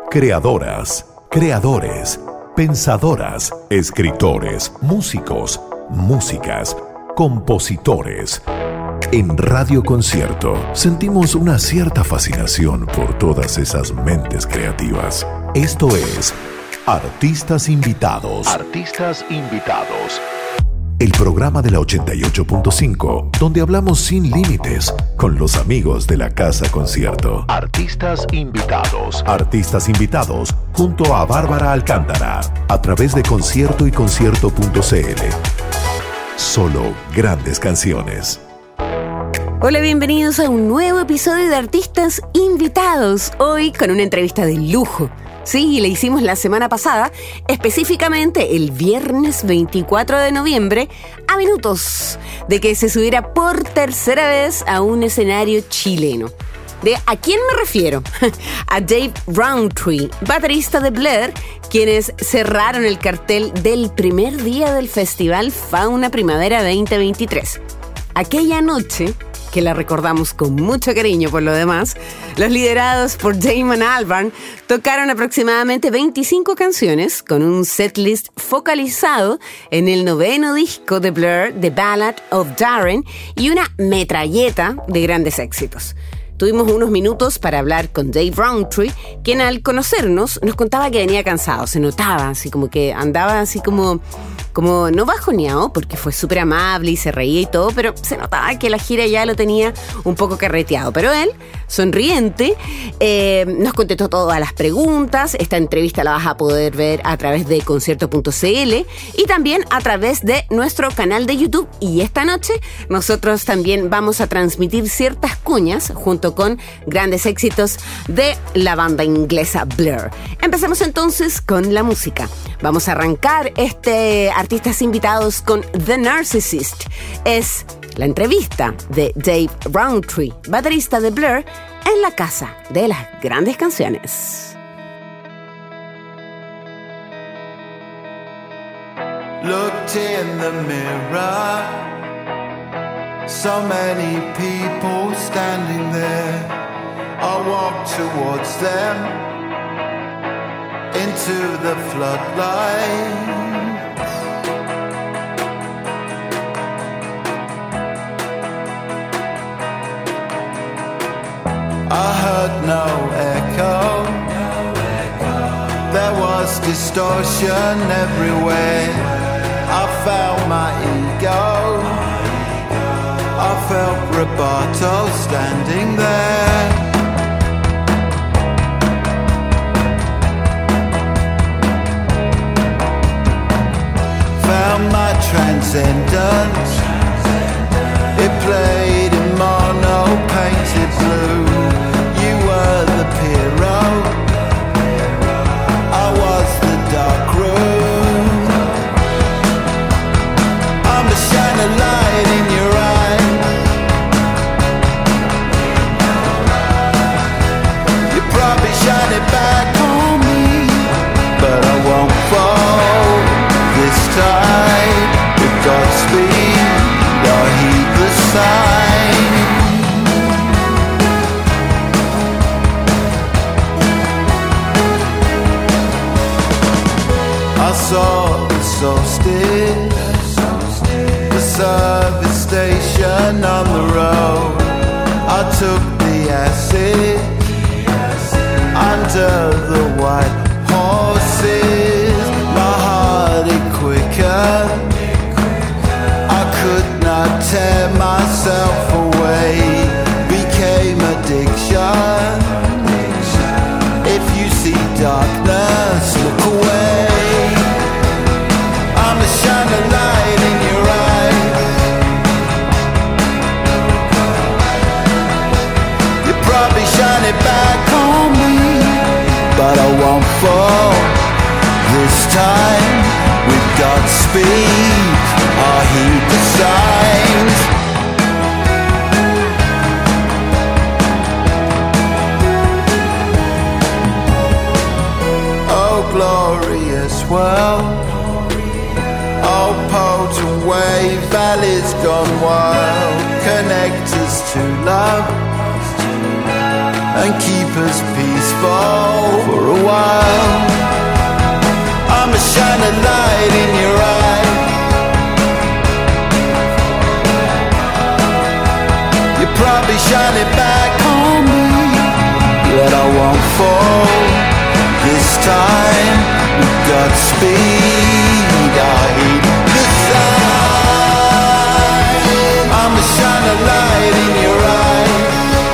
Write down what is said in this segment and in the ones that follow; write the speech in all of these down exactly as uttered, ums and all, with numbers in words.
Creadoras, creadores, pensadoras, escritores, músicos, músicas, compositores. En Radio Concierto sentimos una cierta fascinación por todas esas mentes creativas. Esto es Artistas Invitados. Artistas Invitados. El programa de la ochenta y ocho punto cinco, donde hablamos sin límites con los amigos de la Casa Concierto. Artistas Invitados. Artistas Invitados, junto a Bárbara Alcántara, a través de Concierto y Concierto punto c l. Solo grandes canciones. Hola, bienvenidos a un nuevo episodio de Artistas Invitados. Hoy con una entrevista de lujo. Sí, le hicimos la semana pasada, específicamente el viernes veinticuatro de noviembre, a minutos de que se subiera por tercera vez a un escenario chileno. ¿De a quién me refiero? A Dave Rowntree, baterista de Blur, quienes cerraron el cartel del primer día del Festival Fauna Primavera veinte veintitrés. Aquella noche, que la recordamos con mucho cariño por lo demás, los liderados por Damon Albarn tocaron aproximadamente veinticinco canciones con un setlist focalizado en el noveno disco de Blur, The Ballad of Darren, y una metralleta de grandes éxitos. Tuvimos unos minutos para hablar con Dave Rowntree, quien al conocernos nos contaba que venía cansado, se notaba así como que andaba así como... como no bajoneado, porque fue súper amable y se reía y todo, pero se notaba que la gira ya lo tenía un poco carreteado. Pero él, sonriente, eh, nos contestó todas las preguntas. Esta entrevista la vas a poder ver a través de Concierto punto c l y también a través de nuestro canal de YouTube. Y esta noche nosotros también vamos a transmitir ciertas cuñas junto con grandes éxitos de la banda inglesa Blur. Empecemos entonces con la música. Vamos a arrancar este Artistas Invitados con The Narcissist. Es la entrevista de Dave Rowntree, baterista de Blur, en la casa de las grandes canciones. Looked in the mirror, so many people standing there. I walked towards them, into the floodlight. I heard no echo. There was distortion everywhere. I felt my ego. I felt Roboto standing there. Found my transcendence. It played in mono painted blue. You were the hero, I was the dark room. I'm the shining light in your eye. You probably shine it back on me, but I won't fall this time. With Godspeed, I'll heed the sign. I saw the solstice, the service station on the road. I took the acid under the white horses. My heart it quicker. I could not tear myself away. Became addiction. If you see darkness, look away. I'm the shining light in your eyes. You probably shine it back on me, but I won't fall this time. With Godspeed, I'll heed the signs. Oh, glorious world. Oh, potent wave, valleys gone wild. Connect us to love and keep us peaceful for a while. Godspeed, I heed the sign. I'ma shine a light in your eyes.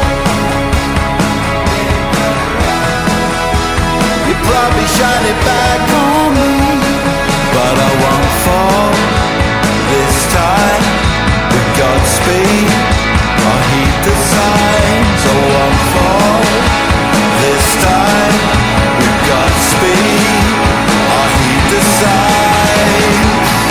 You probably shine it back on me, but I won't fall this time. With Godspeed, I heed the signs. I won't fall this time. With Godspeed, I heed the signs.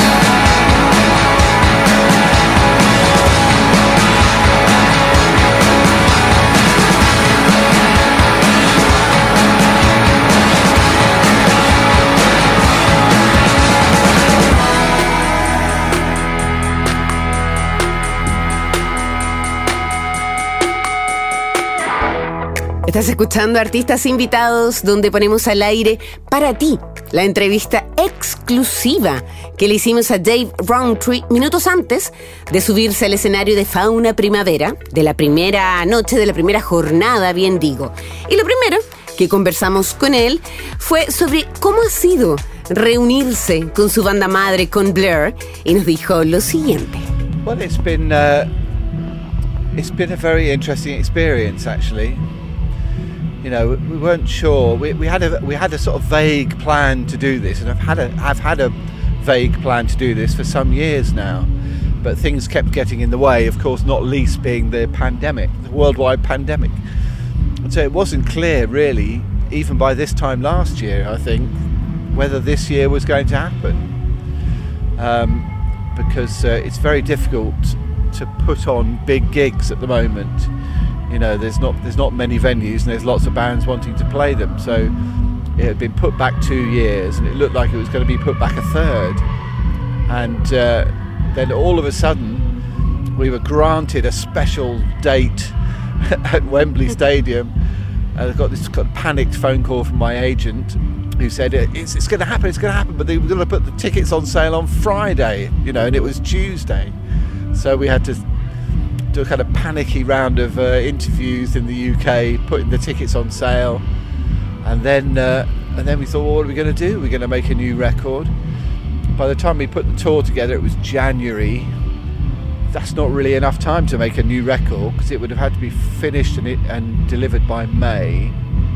Estás escuchando Artistas Invitados, donde ponemos al aire para ti la entrevista exclusiva que le hicimos a Dave Rowntree minutos antes de subirse al escenario de Fauna Primavera, de la primera noche, de la primera jornada, bien digo. Y lo primero que conversamos con él fue sobre cómo ha sido reunirse con su banda madre, con Blur, y nos dijo lo siguiente. Well, it's been uh, it's been a very interesting experience, actually. You know, we weren't sure. We, we had a we had a sort of vague plan to do this, and I've had a I've had a vague plan to do this for some years now, but things kept getting in the way. Of course, not least being the pandemic, the worldwide pandemic. And so it wasn't clear, really, even by this time last year, I think, whether this year was going to happen, um, because uh, it's very difficult to put on big gigs at the moment. You know, there's not there's not many venues, and there's lots of bands wanting to play them. So it had been put back two years, and it looked like it was going to be put back a third. And uh, then all of a sudden, we were granted a special date at Wembley Stadium. And I got this kind of panicked phone call from my agent, who said it's it's going to happen, it's going to happen, but they were going to put the tickets on sale on Friday. You know, and it was Tuesday, so we had to do a kind of panicky round of uh, interviews in the U K, putting the tickets on sale, and then uh, and then we thought, well, what are we going to do? We're going to make a new record. By the time we put the tour together, it was January. That's not really enough time to make a new record, because it would have had to be finished and, it, and delivered by May.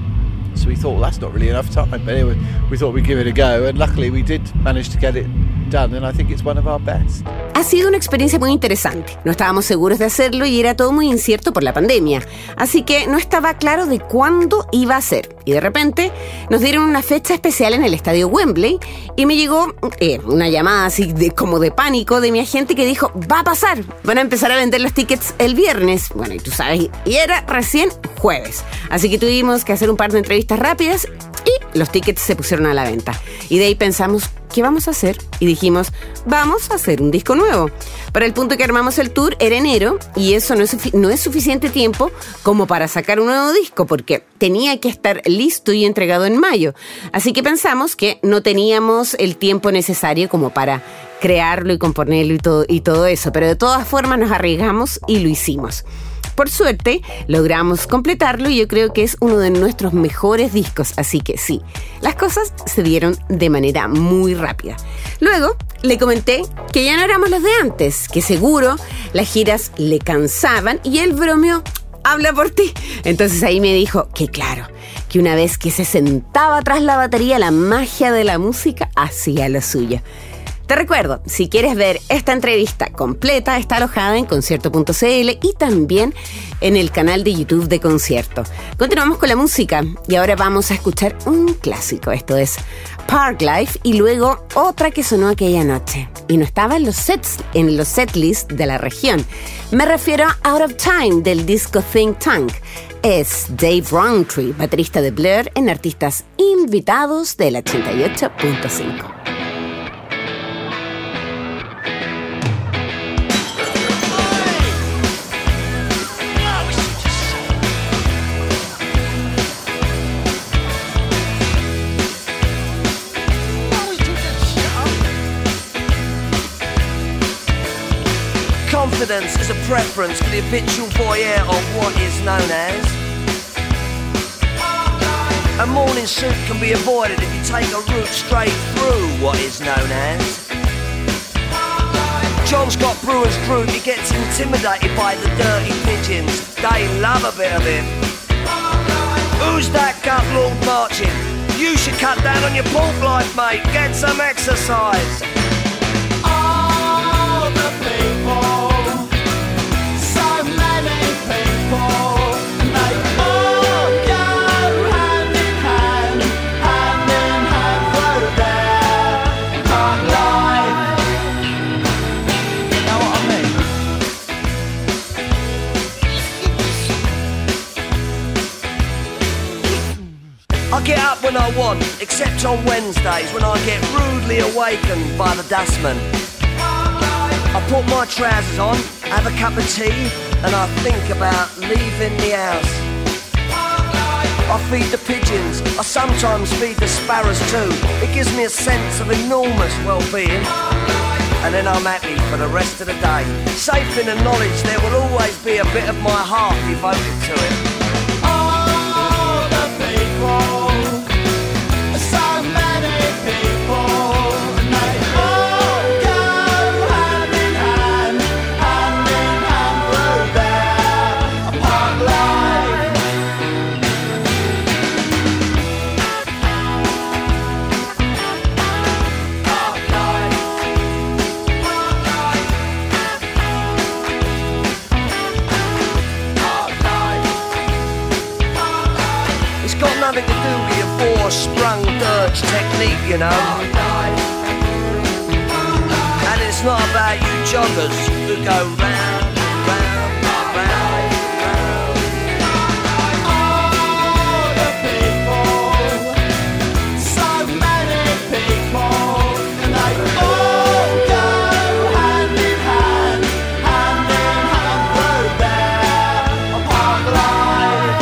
So we thought, well, that's not really enough time. But anyway, we thought we'd give it a go, and luckily we did manage to get it done, and I think it's one of our best. Ha sido una experiencia muy interesante. No estábamos seguros de hacerlo y era todo muy incierto por la pandemia. Así que no estaba claro de cuándo iba a ser. Y de repente nos dieron una fecha especial en el estadio Wembley y me llegó eh, una llamada así de, como de pánico de mi agente que dijo, va a pasar, van a empezar a vender los tickets el viernes. Bueno, y tú sabes, y era recién jueves. Así que tuvimos que hacer un par de entrevistas rápidas y los tickets se pusieron a la venta. Y de ahí pensamos, ¿qué vamos a hacer? Y dijimos, vamos a hacer un disco nuevo. Para el punto que armamos el tour era enero y eso no es, sufi- no es suficiente tiempo como para sacar un nuevo disco, porque tenía que estar listo y entregado en mayo. Así que pensamos que no teníamos el tiempo necesario como para crearlo y componerlo y todo, y todo eso, pero de todas formas nos arriesgamos y lo hicimos. Por suerte, logramos completarlo y yo creo que es uno de nuestros mejores discos, así que sí, las cosas se dieron de manera muy rápida. Luego, le comenté que ya no éramos los de antes, que seguro las giras le cansaban y él bromeó, habla por ti. Entonces ahí me dijo que claro, que una vez que se sentaba tras la batería, la magia de la música hacía lo suyo. Te recuerdo, si quieres ver esta entrevista completa, está alojada en concierto punto c l y también en el canal de YouTube de Concierto. Continuamos con la música y ahora vamos a escuchar un clásico. Esto es Parklife y luego otra que sonó aquella noche y no estaba en los sets, en los setlists de la región. Me refiero a Out of Time del disco Think Tank. Es Dave Rowntree, baterista de Blur, en Artistas Invitados del ochenta y ocho punto cinco. Confidence is a preference for the habitual voyeur of what is known as A morning suit can be avoided if you take a route straight through what is known as. John's got brewer's group, he gets intimidated by the dirty pigeons. They love a bit of him. Who's that gut lord marching? You should cut down on your pork life, mate. Get some exercise. All the people, so many people, and they all go hand in hand, hand in hand through their hard life. You know what I mean? I get up when I want, except on Wednesdays when I get rudely awakened by the dustman. I put my trousers on, have a cup of tea, and I think about leaving the house. I feed the pigeons, I sometimes feed the sparrows too. It gives me a sense of enormous well-being. And then I'm happy for the rest of the day, safe in the knowledge there will always be a bit of my heart devoted to it. All the people, so many people, and they all go hand in hand, hand in hand through their park life. Park life. Park life. It's got nothing to do with your four-sprung dirge technique, you know. And it's not about you joggers who go round, round, round, round. All the people, so many people, and they all go hand in hand, hand in hand through their park life.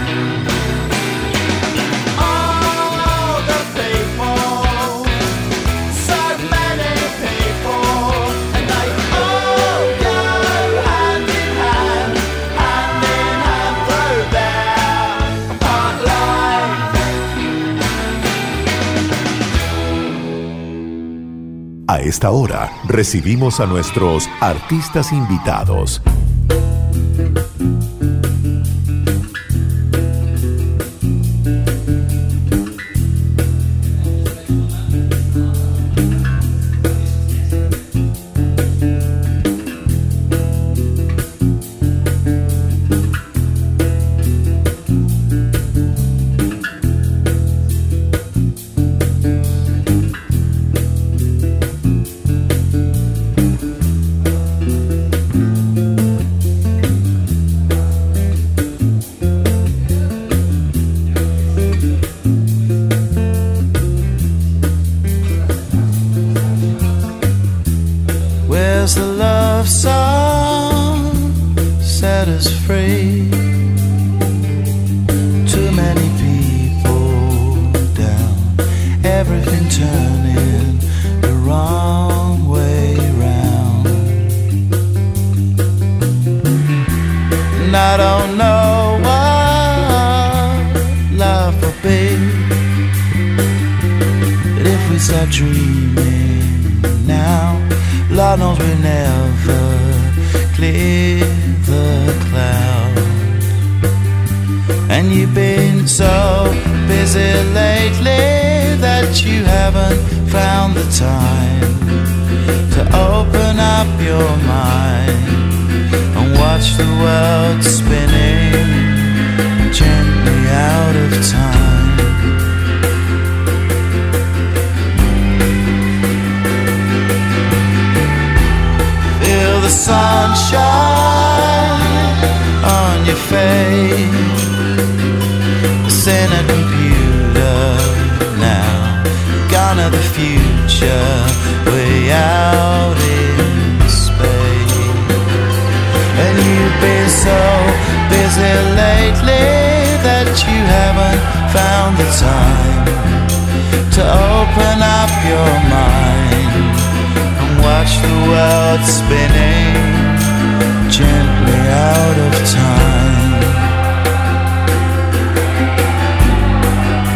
All the people, so many people, and they all go hand in hand, hand in hand through their park life. A esta hora recibimos a nuestros artistas invitados. Where's the love song set us free? Too many people down, everything turning the wrong way round. And I don't know what love will be, but if we start dreaming now, Lord knows we never clear the cloud. And you've been so busy lately that you haven't found the time to open up your mind and watch the world spinning gently out of time. The sunshine on your face, it's in a computer now, gone to the future, way out in space. And you've been so busy lately that you haven't found the time to open up your mind, watch the world spinning gently out of time.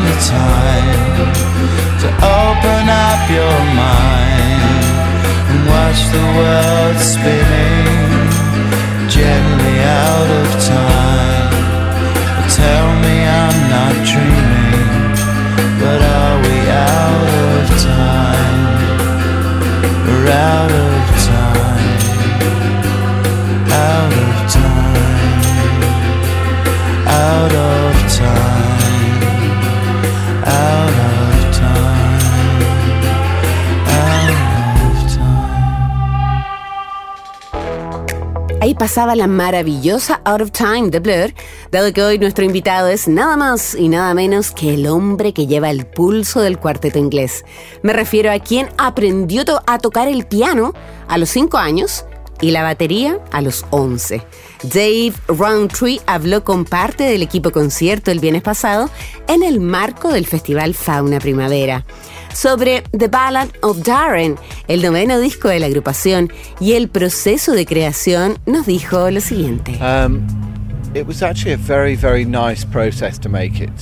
found the time to open up your mind and watch the world spinning gently out of time. Tell me I'm not dreaming, but are we out of time? We're out of time, out of time, out of time, out of time, out of time. Ahí pasaba la maravillosa Out of Time de Blur, dado que hoy nuestro invitado es nada más y nada menos que el hombre que lleva el pulso del cuarteto inglés. Me refiero a quien aprendió to- a tocar el piano a los cinco años y la batería a los once. Dave Rowntree habló con parte del equipo concierto el viernes pasado en el marco del Festival Fauna Primavera sobre The Ballad of Darren, el noveno disco de la agrupación, y el proceso de creación. Nos dijo lo siguiente. Um, it was actually a very, very nice process to make it.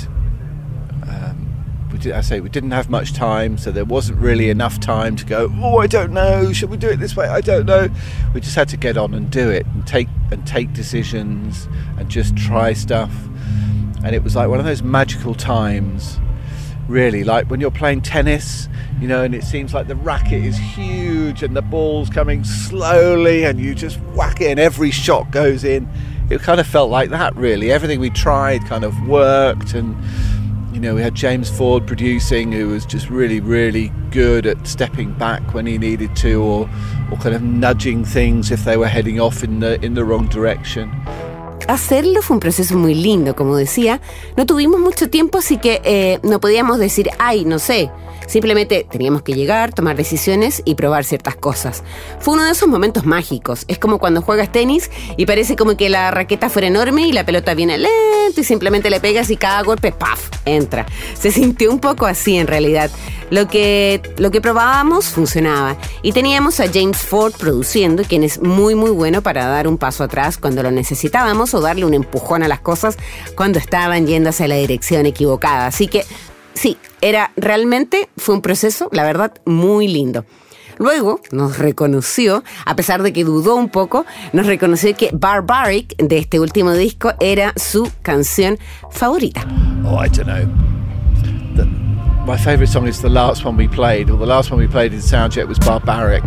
Um, we did, I say we didn't have much time, so there wasn't really enough time to go, oh, I don't know, should we do it this way? I don't know. We just had to get on and do it and take and take decisions and just try stuff. And it was like one of those magical times, really, like when you're playing tennis, you know, and it seems like the racket is huge and the ball's coming slowly and you just whack it and every shot goes in. It kind of felt like that, really. Everything we tried kind of worked, and, you know, we had James Ford producing, who was just really, really good at stepping back when he needed to, or, or kind of nudging things if they were heading off in the, in the wrong direction. Hacerlo fue un proceso muy lindo, como decía. No tuvimos mucho tiempo, así que eh, no podíamos decir, ay, no sé. Simplemente teníamos que llegar, tomar decisiones y probar ciertas cosas. Fue uno de esos momentos mágicos. Es como cuando juegas tenis y parece como que la raqueta fuera enorme y la pelota viene lento y simplemente le pegas y cada golpe, ¡paf!, entra. Se sintió un poco así en realidad. Lo que, lo que probábamos funcionaba. Y teníamos a James Ford produciendo, quien es muy muy bueno para dar un paso atrás cuando lo necesitábamos o darle un empujón a las cosas cuando estaban yendo hacia la dirección equivocada. Así que sí, era realmente, fue un proceso, la verdad, muy lindo. Luego nos reconoció, a pesar de que dudó un poco, nos reconoció que Barbaric, de este último disco, era su canción favorita. Oh, I don't know. The, my favourite song is the last one we played, or the last one we played in Soundcheck was Barbaric.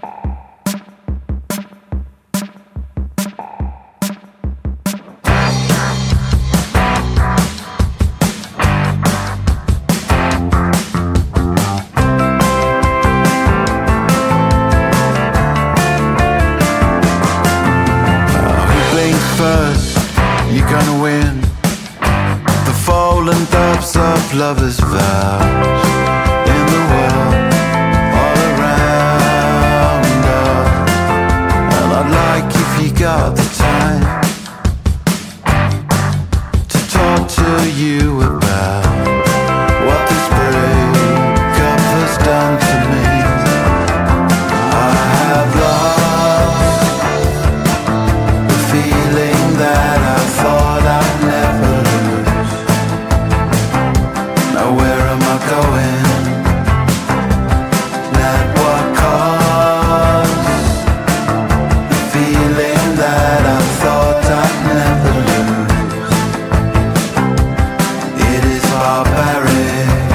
Lovers' vows in the world all around us, and I'd like, if you got the time, to talk to you about what this breakup has done to me. I have lost the feeling that I thought I'd never lose. Where am I going? Not what caused the feeling that I thought I'd never lose. It is barbaric.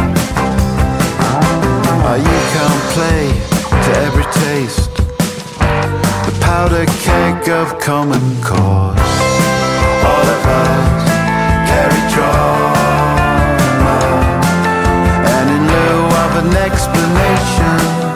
Oh, you can't play to every taste, the powder keg of common cause. All of us carry joy. An explanation,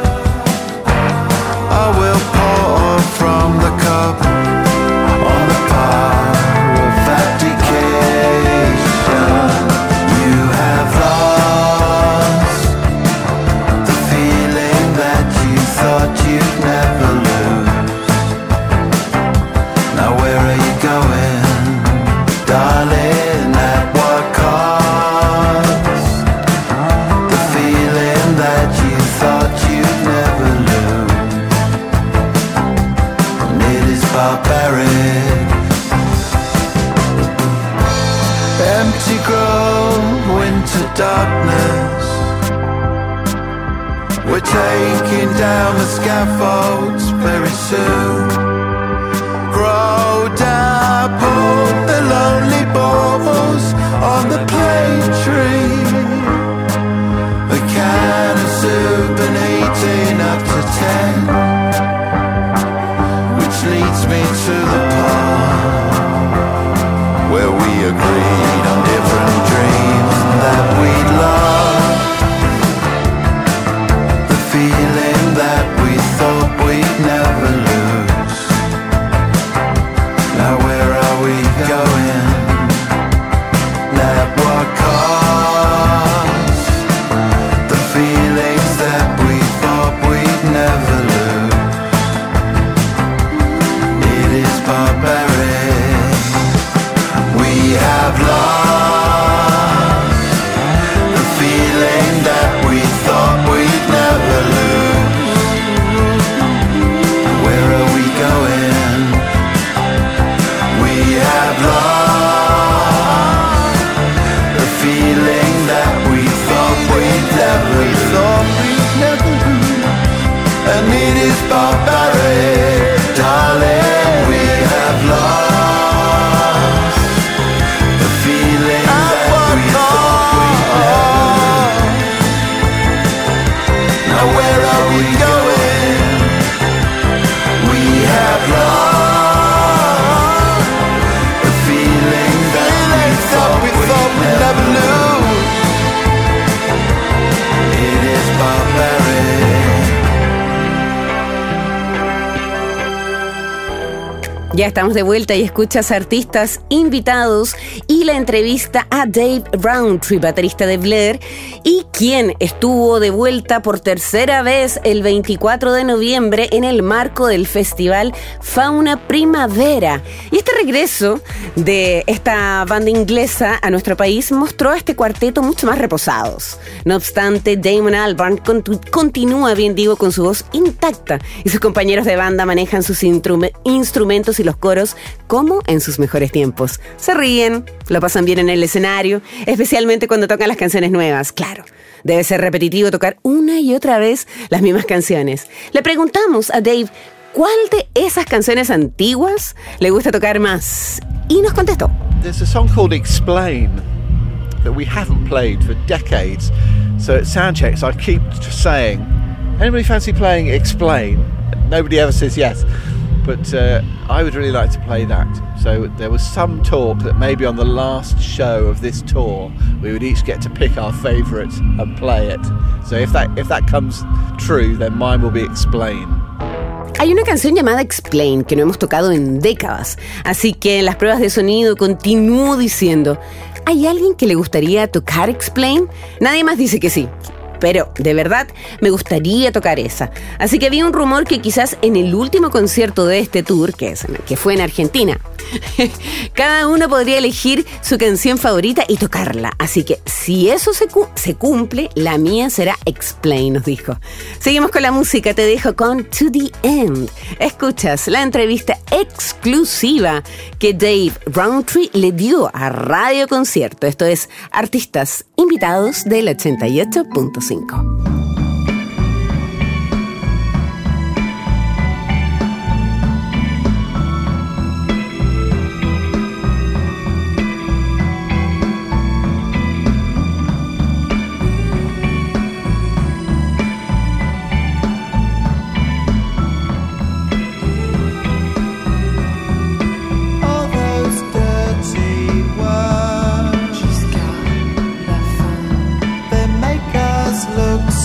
I will pour from the cup on the power of abdication. You have lost the feeling that you thought you'd never lose. Now into darkness. We're taking down the scaffolds very soon. Grow down, put the lonely balls on the plane tree. A can of soup and eighteen up to ten, which leads me to the part where we agreed on different dreams that we'd love. The feeling that we thought we'd never lose. Now where are we going? Let what comes. The feelings that we thought we'd never lose. It is barbaric. We have lost the feeling that we thought we'd never lose. Where are we going? We have lost the feeling that we thought we'd never lose. And it is barbaric, darling. We have lost the feeling that we thought we'd never lose. Now where are we going? We have lost the feeling that we thought we'd never lose. It is barbaric. Ya estamos de vuelta y escuchas artistas invitados y la entrevista a Dave Rowntree, baterista de Blair, y quien estuvo de vuelta por tercera vez el veinticuatro de noviembre en el marco del festival Fauna Primavera. Y este regreso de esta banda inglesa a nuestro país mostró a este cuarteto mucho más reposados. No obstante, Damon Albarn contu- continúa, bien digo, con su voz intacta y sus compañeros de banda manejan sus intrum- instrumentos y los coros como en sus mejores tiempos. Se ríen, lo pasan bien en el escenario, especialmente cuando tocan las canciones nuevas. Claro, debe ser repetitivo tocar una y otra vez las mismas canciones. Le preguntamos a Dave cuál de esas canciones antiguas le gusta tocar más y nos contestó. There's a song called Explain that we haven't played for decades. So at sound checks I keep saying, anybody fancy playing Explain? Nobody ever says yes. But uh, I would really like to play that. So there was some talk that maybe on the last show of this tour we would each get to pick our favourite and play it. So if that if that comes true, then mine will be Explain. Hay una canción llamada Explain que no hemos tocado en décadas, así que en las pruebas de sonido continúo diciendo, ¿hay alguien que le gustaría tocar Explain? Nadie más dice que sí. Pero, de verdad, me gustaría tocar esa. Así que había un rumor que quizás en el último concierto de este tour, que, es, que fue en Argentina, cada uno podría elegir su canción favorita y tocarla. Así que, si eso se, cu- se cumple, la mía será Explain, nos dijo. Seguimos con la música, te dejo con To The End. Escuchas la entrevista exclusiva que Dave Rowntree le dio a Radio Concierto. Esto es Artistas Invitados del ochenta y ocho punto cinco. All those dirty words, they make us look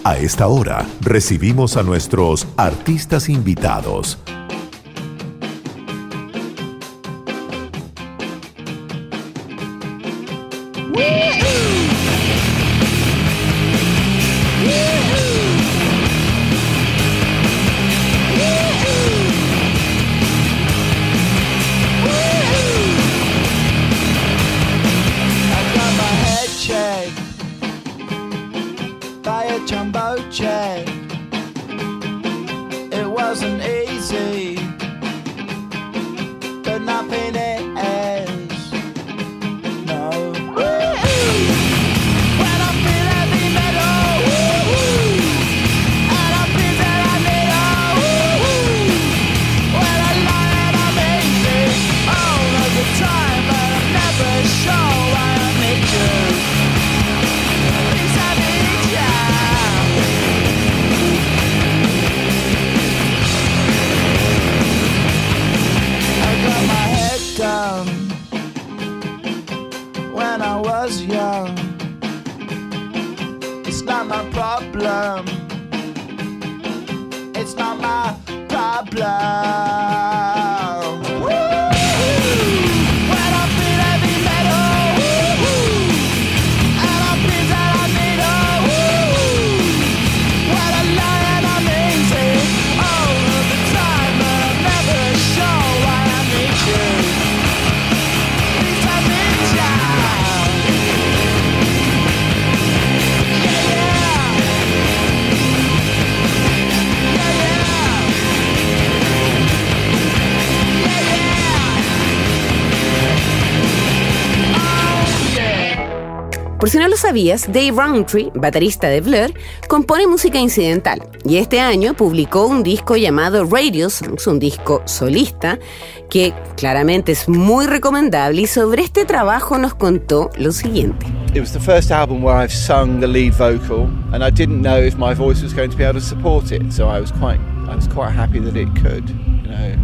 A esta hora recibimos a nuestros artistas invitados. Por si no lo sabías, Dave Rowntree, baterista de Blur, compone música incidental y este año publicó un disco llamado Radio Songs, un disco solista que claramente es muy recomendable, y sobre este trabajo nos contó lo siguiente. It was the first album where I've sung the lead vocal, and I didn't know if my voice was going to be able to support it, so I was quite I was quite happy that it could, you know.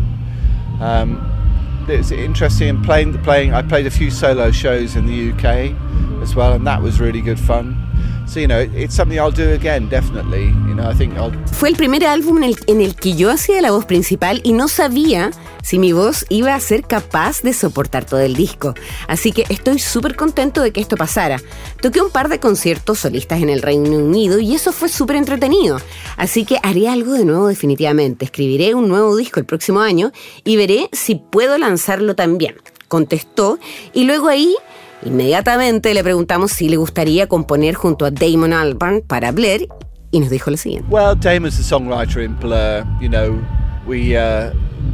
Um, it was interesting in playing playing I played a few solo shows in the U K as well, and that was really good fun. So, you know, it's something I'll do again, definitely. You know, I think I'll... Fue el primer álbum en el, en el que yo hacía la voz principal y no sabía si mi voz iba a ser capaz de soportar todo el disco. Así que estoy súper contento de que esto pasara. Toqué un par de conciertos solistas en el Reino Unido y eso fue súper entretenido. Así que haré algo de nuevo definitivamente. Escribiré un nuevo disco el próximo año y veré si puedo lanzarlo también. Contestó, y luego ahí... inmediatamente le preguntamos si le gustaría componer junto a Damon Albarn para Blur, y nos dijo lo siguiente. Well, Damon's the songwriter in Blur. You know, we uh,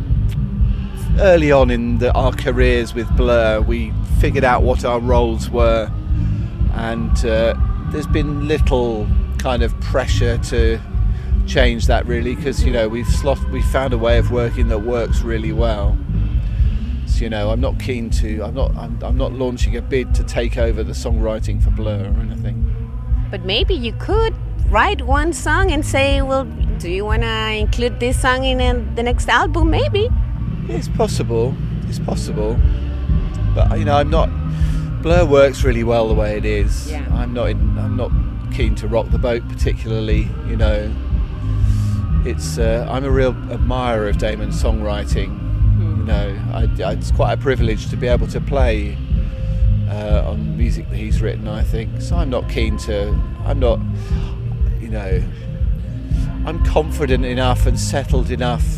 early on in the, our careers with Blur, we figured out what our roles were, and uh, there's been little kind of pressure to change that really, because you know we've slot, we've found a way of working that works really well. You know, I'm not keen to. I'm not. I'm, I'm not launching a bid to take over the songwriting for Blur or anything. But maybe you could write one song and say, "Well, do you want to include this song in uh, the next album?" Maybe. It's possible. It's possible. But you know, I'm not. Blur works really well the way it is. Yeah. I'm not. In, I'm not keen to rock the boat particularly. You know, it's. Uh, I'm a real admirer of Damon's songwriting. You know, I, I, it's quite a privilege to be able to play uh, on music that he's written, I think. So I'm not keen to, I'm not, you know, I'm confident enough and settled enough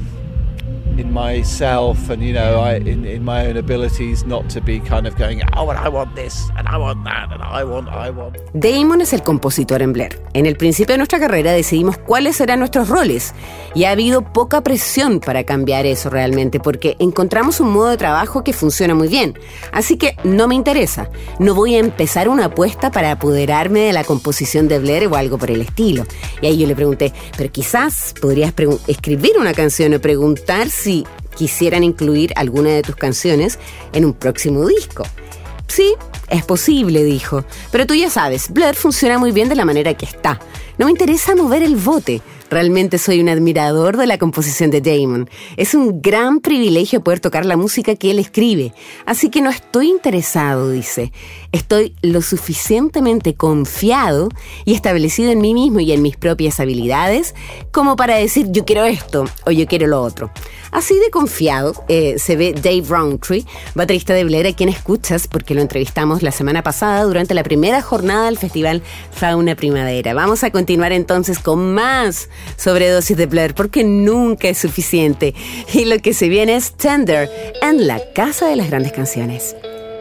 in myself and, you know, I, in, in my own abilities not to be kind of going, oh, and I want this, and I want that, and I want, I want. Damon es el compositor en Blur. En el principio de nuestra carrera decidimos cuáles serán nuestros roles y ha habido poca presión para cambiar eso realmente, porque encontramos un modo de trabajo que funciona muy bien. Así que no me interesa. No voy a empezar una apuesta para apoderarme de la composición de Blur o algo por el estilo. Y ahí yo le pregunté, pero quizás podrías pregun- escribir una canción o preguntar si quisieran incluir alguna de tus canciones en un próximo disco. Sí, es posible, dijo, pero tú ya sabes, Blur funciona muy bien de la manera que está. No me interesa mover el bote. Realmente soy un admirador de la composición de Damon. Es un gran privilegio poder tocar la música que él escribe. Así que no estoy interesado, dice. Estoy lo suficientemente confiado y establecido en mí mismo y en mis propias habilidades como para decir yo quiero esto o yo quiero lo otro. Así de confiado eh, se ve Dave Rowntree, baterista de Blair, a quien escuchas porque lo entrevistamos la semana pasada durante la primera jornada del festival Fauna Primavera. Vamos a continuar entonces con más sobredosis de Blair porque nunca es suficiente. Y lo que se viene es Tender en la Casa de las Grandes Canciones.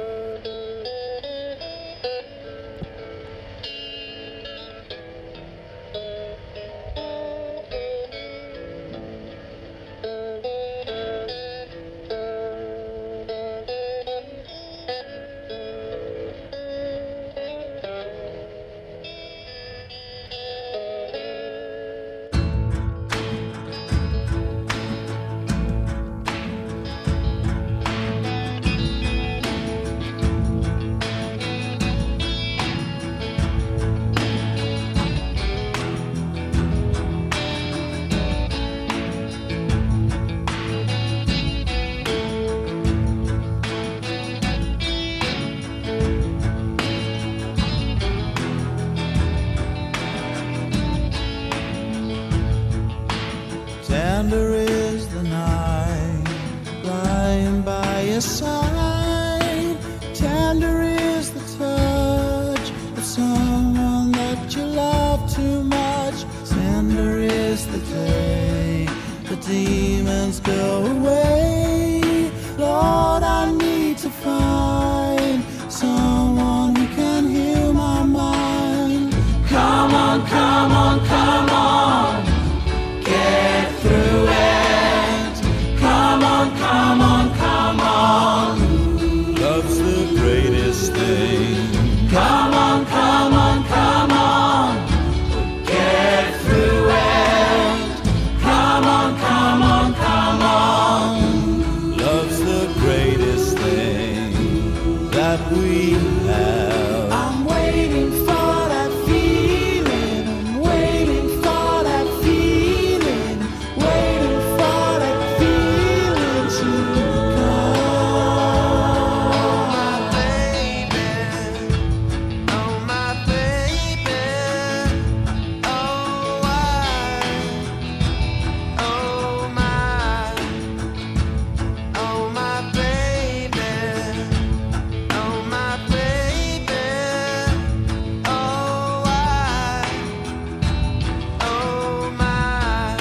Tender is the night lying by your side. Tender is the touch of someone that you love too much. Tender is the day the demons go away. Lord, I need to find someone who can heal my mind. Come on, come on, come on. Get through it. Come on, come on, come on. Love's the greatest thing. Come on, come on, come on. Get through it. Come on, come on, come on. Love's the greatest thing that we have. I'm waiting for that feeling. I'm waiting for that feeling. Waiting for that feeling to come. Baby, oh my baby, oh I, oh my, oh my baby, oh my baby, oh I, oh my.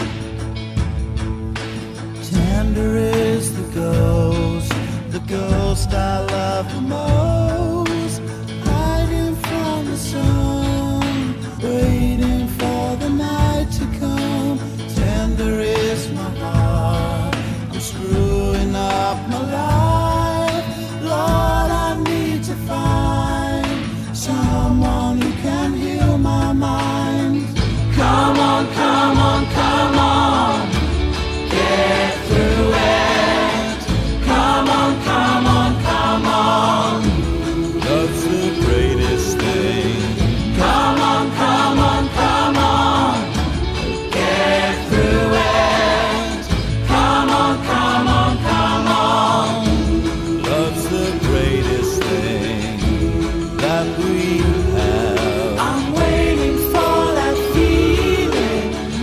Tender is the ghost, the ghost I love the most, hiding from the sun, waiting for the night to come. Tender is my heart, I'm screwing up my life. Lord, I need to find someone who can heal my mind. Come on, come on, come on. Get through it. Come on, come on, come on. Love's the greatest thing. Come on, come on, come on. Get through it. Come on, come on, come on. Love's the greatest thing that we have. I'm waiting for that feeling.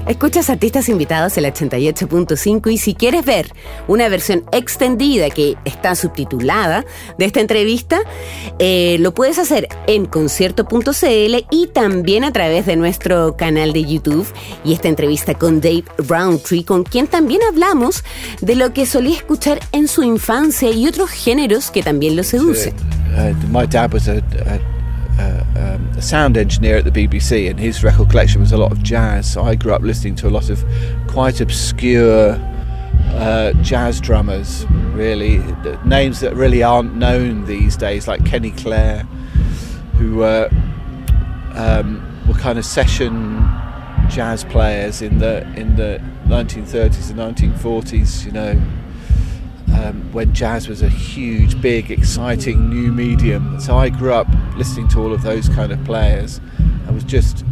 Escuchas Artistas Invitados el ochenta y ocho punto cinco y si quieres ver una versión extendida que está subtitulada de esta entrevista, eh, lo puedes hacer en concierto punto c l y también a través de nuestro canal de YouTube. Y esta entrevista con Dave Rowntree, con quien también hablamos de lo que solía escuchar en su infancia y otros géneros que también lo seducen. Uh, my dad was a, a Uh, um, a sound engineer at the B B C, and his record collection was a lot of jazz, so I grew up listening to a lot of quite obscure uh, jazz drummers, really, names that really aren't known these days, like Kenny Clare, who uh, um, were kind of session jazz players in the in the nineteen thirties and nineteen forties, you know. Um, when jazz was a huge, big, exciting new medium. So I grew up listening to all of those kind of players. I was just,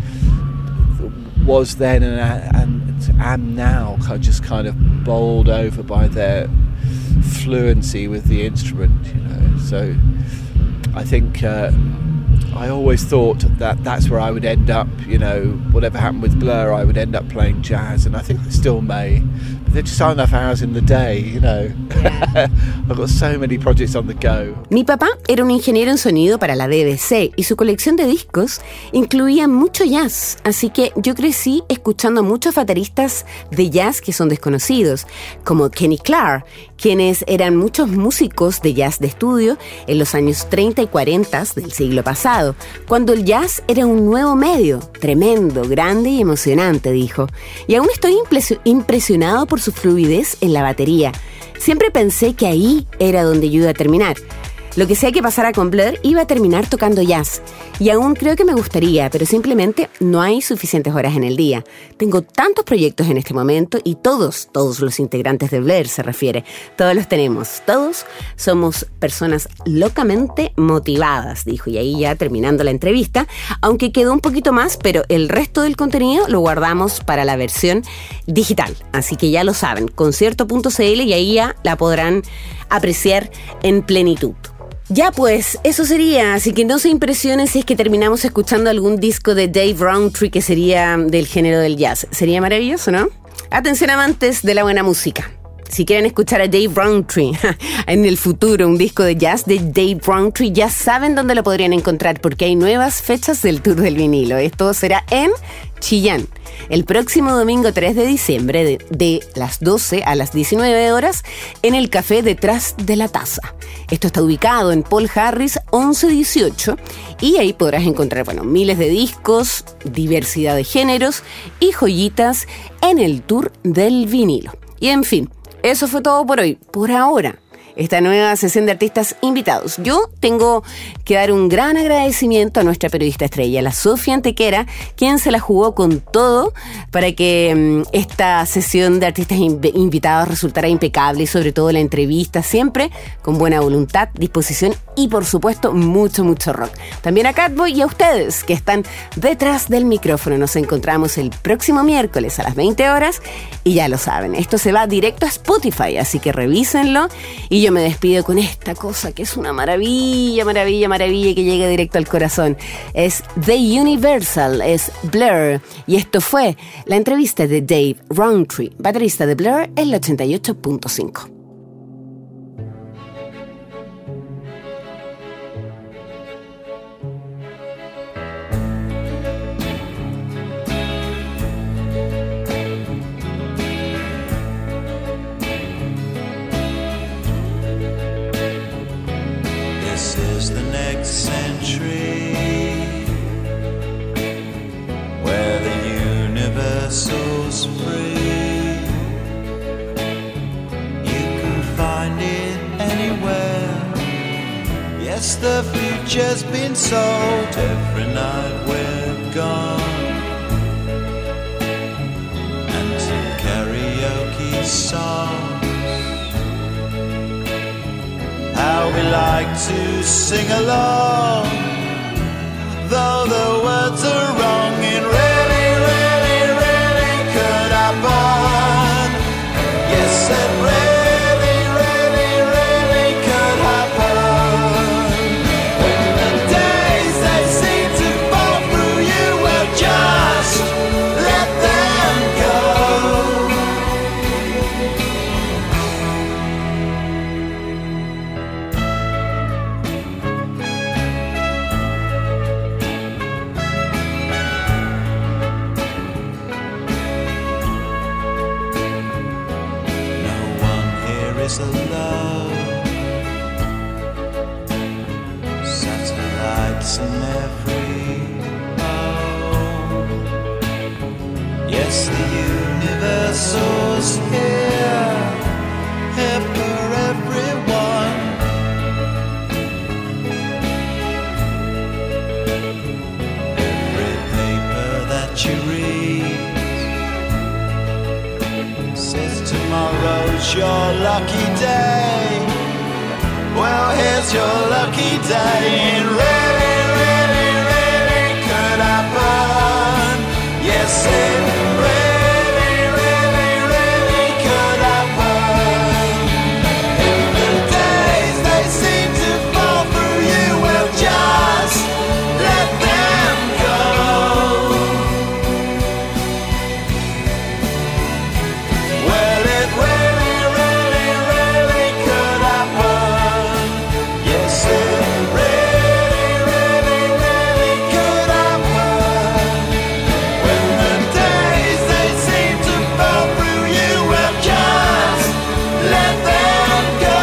was then and, and am now just kind of bowled over by their fluency with the instrument, you know. So I think uh, I always thought that that's where I would end up, you know, whatever happened with Blur, I would end up playing jazz, and I think I still may. There just aren't enough hours in the day, you know. I've got so many projects on the go. Mi papá era un ingeniero en sonido para la B B C y su colección de discos incluía mucho jazz, así que yo crecí escuchando a muchos bateristas de jazz que son desconocidos, como Kenny Clarke, quienes eran muchos músicos de jazz de estudio en los años treinta y cuarenta del siglo pasado, cuando el jazz era un nuevo medio, tremendo, grande y emocionante, dijo. Y aún estoy impresionado por su fluidez en la batería. Siempre pensé que ahí era donde yo iba a terminar. Lo que sea que pasara con Blur, iba a terminar tocando jazz. Y aún creo que me gustaría, pero simplemente no hay suficientes horas en el día. Tengo tantos proyectos en este momento y todos, todos los integrantes de Blur se refiere. Todos los tenemos. Todos somos personas locamente motivadas, dijo. Y ahí ya terminando la entrevista, aunque quedó un poquito más, pero el resto del contenido lo guardamos para la versión digital. Así que ya lo saben, concierto punto c l y ahí ya la podrán apreciar en plenitud. Ya pues, eso sería, así que no se impresionen si es que terminamos escuchando algún disco de Dave Rowntree que sería del género del jazz. Sería maravilloso, ¿no? Atención amantes de la buena música. Si quieren escuchar a Dave Rowntree en el futuro, un disco de jazz de Dave Rowntree, ya saben dónde lo podrían encontrar porque hay nuevas fechas del Tour del Vinilo. Esto será en Chillán, el próximo domingo tres de diciembre de, de las doce a las diecinueve horas en el Café Detrás de la Taza. Esto está ubicado en Paul Harris once dieciocho y ahí podrás encontrar, bueno, miles de discos, diversidad de géneros y joyitas en el Tour del Vinilo. Y en fin, eso fue todo por hoy, por ahora. Esta nueva sesión de artistas invitados. Yo tengo que dar un gran agradecimiento a nuestra periodista estrella, la Sofía Antequera, quien se la jugó con todo para que um, esta sesión de artistas inv- invitados resultara impecable y sobre todo la entrevista siempre con buena voluntad, disposición y por supuesto mucho, mucho rock. También a Catboy y a ustedes que están detrás del micrófono. Nos encontramos el próximo miércoles a las veinte horas y ya lo saben, esto se va directo a Spotify, así que revísenlo y yo me despido con esta cosa que es una maravilla, maravilla, maravilla que llega directo al corazón. Es The Universal, es Blur. Y esto fue la entrevista de Dave Rowntree, baterista de Blur, en el ochenta y ocho punto cinco. The future's been sold every night we're gone, and some karaoke songs. How we like to sing along, though the words are wrong. And really, really, really could happen. Yes, it really go. in every home. Yes, the universal's here, here for everyone. Every paper that you read says tomorrow's your lucky day. Well, here's your lucky day. It really, really, really could happen. Yes, it really, really, really could happen. If the days they seem to fall through you, well, just let them go. Well, it really, really, really could happen. Yes, it really, really, really could happen. When the days they seem to fall through you, well, just let them go.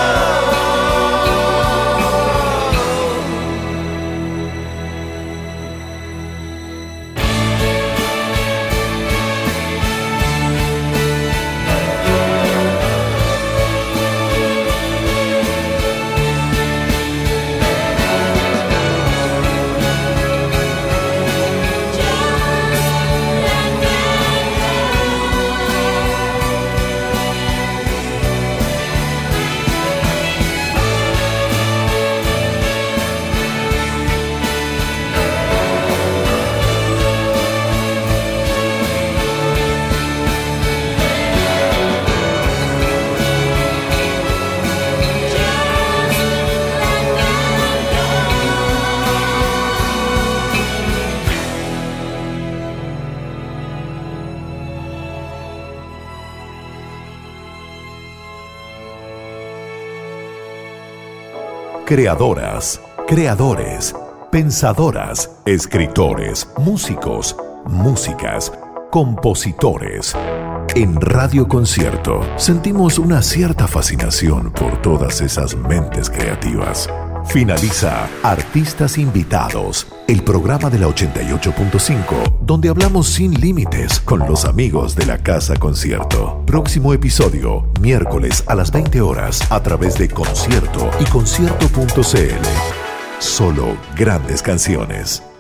Creadoras, creadores, pensadoras, escritores, músicos, músicas, compositores. En Radio Concierto sentimos una cierta fascinación por todas esas mentes creativas. Finaliza Artistas Invitados, el programa de la ochenta y ocho punto cinco, donde hablamos sin límites con los amigos de la Casa Concierto. Próximo episodio, miércoles a las veinte horas, a través de Concierto y concierto punto c l. Solo grandes canciones.